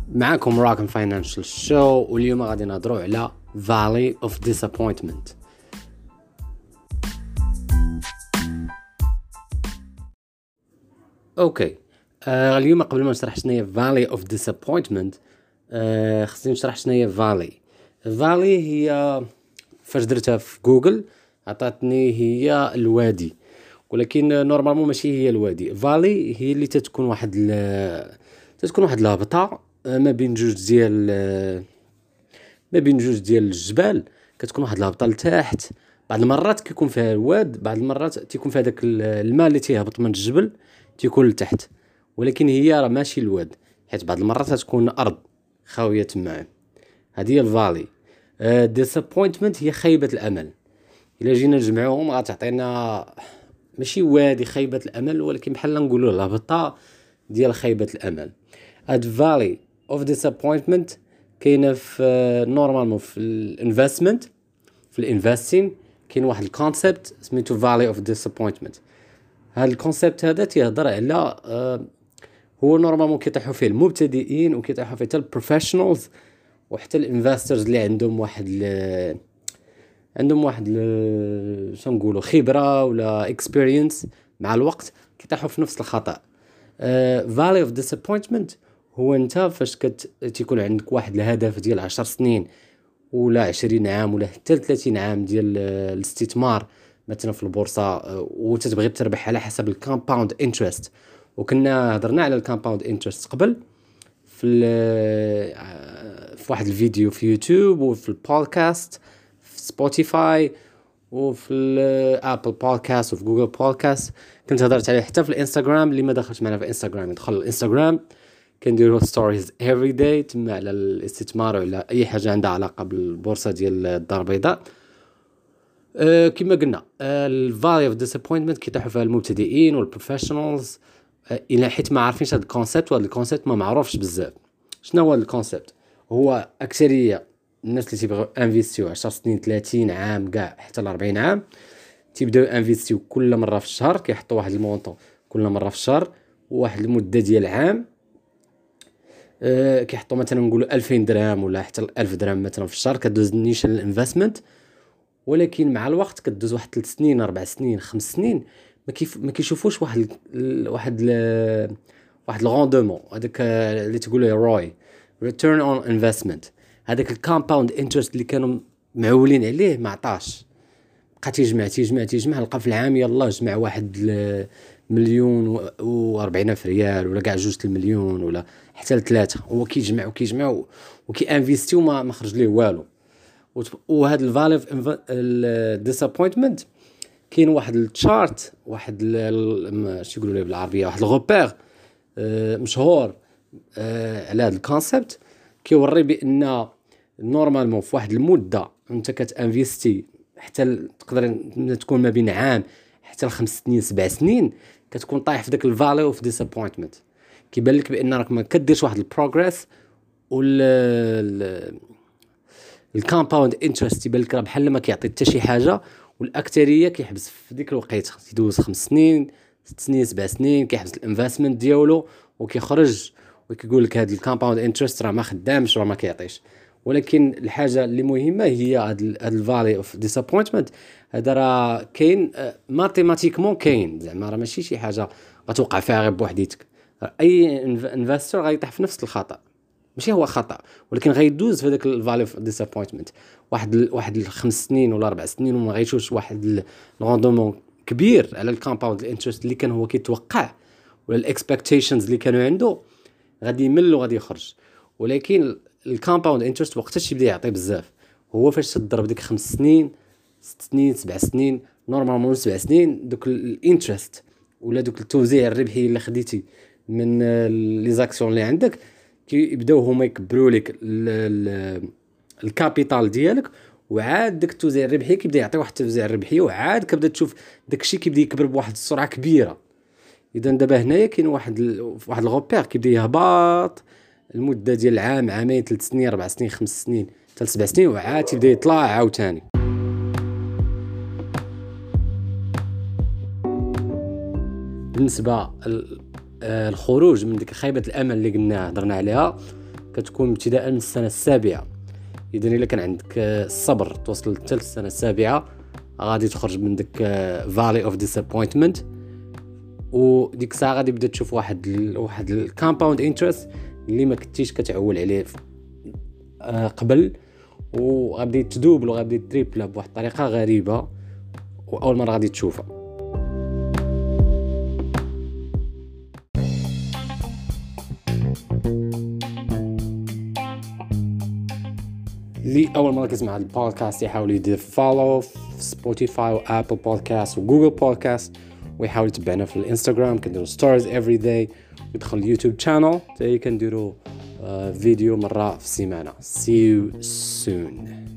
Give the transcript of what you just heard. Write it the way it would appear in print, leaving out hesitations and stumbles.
معكم راكن فاينانشال شو، واليوم غادي نهضروا على Valley of Disappointment. اوكي. اليوم قبل ما نشرح شنو هي Valley of Disappointment خصني نشرح شنو هي Valley هي فاش درتها في جوجل عطاتني هي الوادي، ولكن نورمالمون ماشي هي الوادي. Valley هي اللي تتكون واحد الهبطه ما بين جوج ديال الجبال، كتكون واحد الهبطه لتحت. بعض المرات كيكون فيها الواد، بعض المرات تيكون فيها داك الماء اللي تيهبط من الجبل تيكون لتحت، ولكن هي راه ماشي الواد، حيت بعض المرات تكون ارض خاويه تما. هذه هي الفالي. ديسابوينتمنت هي خيبه الامل. الا جينا نجمعوهم غتعطينا ماشي وادي خيبه الامل، ولكن بحال نقولوا الهبطه ديال خيبه الامل. هاد فالي اوف ديسابوينتمنت كاينه في نورمالمون في الانفستمنت، في الانفستين كاين واحد الكونسيبت سميتو فالي اوف ديسابوينتمنت. هاد الكونسيبت هذا تيهضر على هو نورمالمون كيطيحوا فيه المبتدئين وكيطيحوا فيه حتى البروفيشنالز وحتى الانفسترز اللي عندهم واحد شنو نقولوا خبره ولا اكسبيرينس. مع الوقت كيطيحوا في نفس الخطا. فالي اوف ديسابوينتمنت هو انت فاش تيكون عندك واحد الهدف ديال 10 سنين ولا 20 عام ولا حتى 30 عام ديال الاستثمار مثلا في البورصه، وتتبغي تربح على حسب الكومباوند انترست. وكنا هضرنا على الكومباوند انترست قبل في واحد الفيديو في يوتيوب وفي البودكاست في سبوتيفاي وفي ابل بودكاست وفي جوجل بودكاست. كنت هضرت عليه حتى في الانستغرام. اللي ما دخلش معنا في الانستغرام يدخل الانستغرام، كنديروا ستوريز افري داي تما على الاستثمار وعلى اي حاجه عندها علاقه بالبورصه ديال الدار البيضاء. كما قلنا الفالي اوف ديسابوينتمنت كيطيحوا فيها المبتدئين والبروفيشنالز الى حيت ما عارفينش هذا الكونسيبت، وهذا الكونسيبت ما معروفش بزاف. شنو هو الكونسيبت؟ هو اكثريه الناس اللي تيبغيو انفيستيو 10 سنين 30 عام كاع حتى ل 40 عام تيبداو انفيستيو كل مره في الشهر، كيحطوا واحد المونطون كل مره في الشهر وواحد المده ديال عام. كيحطوا مثلا نقولوا 2000 درهم ولا حتى 1000 درهم مثلا في الشهر كدوز نيشان الانفستمنت. ولكن مع الوقت كدوز واحد 3 سنين 4 سنين 5 سنين ما كيشوفوش واحد الغوندومون، هذاك اللي تقولوا روي ريتيرن اون انفستمنت. هذاك الكومباوند انترست اللي كانوا معولين عليه ما عطاش، بقى تيجمع لقى في العام يلا جمع واحد 1,040,000 ريال ولا كاع 2 المليون ولا حتى 3. هو كيجمع وكيانفيستي وما خرج ليه والو. وهذا الفاليو الديسابوينتمنت كاين واحد التشارت، واحد شنو يقولوا له بالعربيه، واحد الغوبير مشهور على هذا الكونسيبت. كيوري بان نورمالمون في واحد المده انت كتانفيستي حتى تقدر تكون ما بين عام حتى 5 سنين 7 سنين كتكون طايح في داك الفاليو اوف ديسابوينتمنت. كيبان لك بان راك ما كديرش واحد البروغريس، الكومباوند انترست يبان لك بحال ما كيعطي حتى شي حاجه، والاكثريه كيحبس في ديك الوقيته يدوز 5 سنين 6 سنين 7 سنين كيحبس الانفستمنت ديالو وكيخرج وكيقول لك هذا الكومباوند انترست راه ما خدامش راه ما كيعطيش. ولكن الحاجه اللي مهمه هي هذا الفالي اوف ديسابوينتمنت. هذا راه كاين ماتيماتيكمون، كاين زعما راه ماشي شي حاجه غتوقع فيها غير بوحديتك. اي انفستور غيطيح في نفس الخطا، ماشي هو خطا ولكن غيدوز في هذاك الفاليو اوف ديسابوينتمنت واحد 5 سنين ولا 4 سنين وما غيشوفش واحد الروندومون كبير على الكومباوند الانترست اللي كان هو كيتوقع ولا الاكسبكتيشنز اللي كانوا عنده. غادي يمل وغادي يخرج. ولكن الكومباوند انترست وقتاش يبدا يعطي بزاف هو فاش تضرب ديك 5 سنين 6 سنين 7 سنين. نورمالمون 7 سنين دوك الانترست ولا دوك التوزيع الربحي اللي خديتي من لي زاكسيون اللي عندك كيبداو هما يكبروا لك الكابيتال ديالك، وعاد داك التوزيع الربحي كيبدا يعطي واحد التوزيع الربحي، وعاد كتبدا تشوف داكشي كيبدا يكبر بواحد السرعه كبيره. اذا دابا هنايا كاين واحد الغوبير كيبدا يهبط المده ديال عام عامين 3 سنين 4 سنين 5 سنين حتى 7 سنين، وعاد تيبدا يطلع عاوتاني. بالنسبه الخروج من ديك خيبه الامل اللي قلنا هضرنا عليها كتكون ابتداء من السنه السابعه. اذا الا كان عندك الصبر توصل حتى للسنه السابعه غادي تخرج من ديك فالي اوف ديسابوينتمنت، وديك الساعه غادي تبدا تشوف واحد الكومباوند انترست اللي ما كنتيش كتعول عليه قبل، وغادي تدوبل وغادي تريبل بواحد الطريقه غريبه واول مره غادي تشوفها. اللي اول مره كيسمع هذا البودكاست يحاول يدير فولو في سبوتيفاي وابل بودكاست وجوجل بودكاست، ويحاول يتبعنا في الانستغرام كنديروا ستوريز افري داي، ويدخل اليوتيوب شانل تاعي كنديروا فيديو مره في السيمانه. See you soon.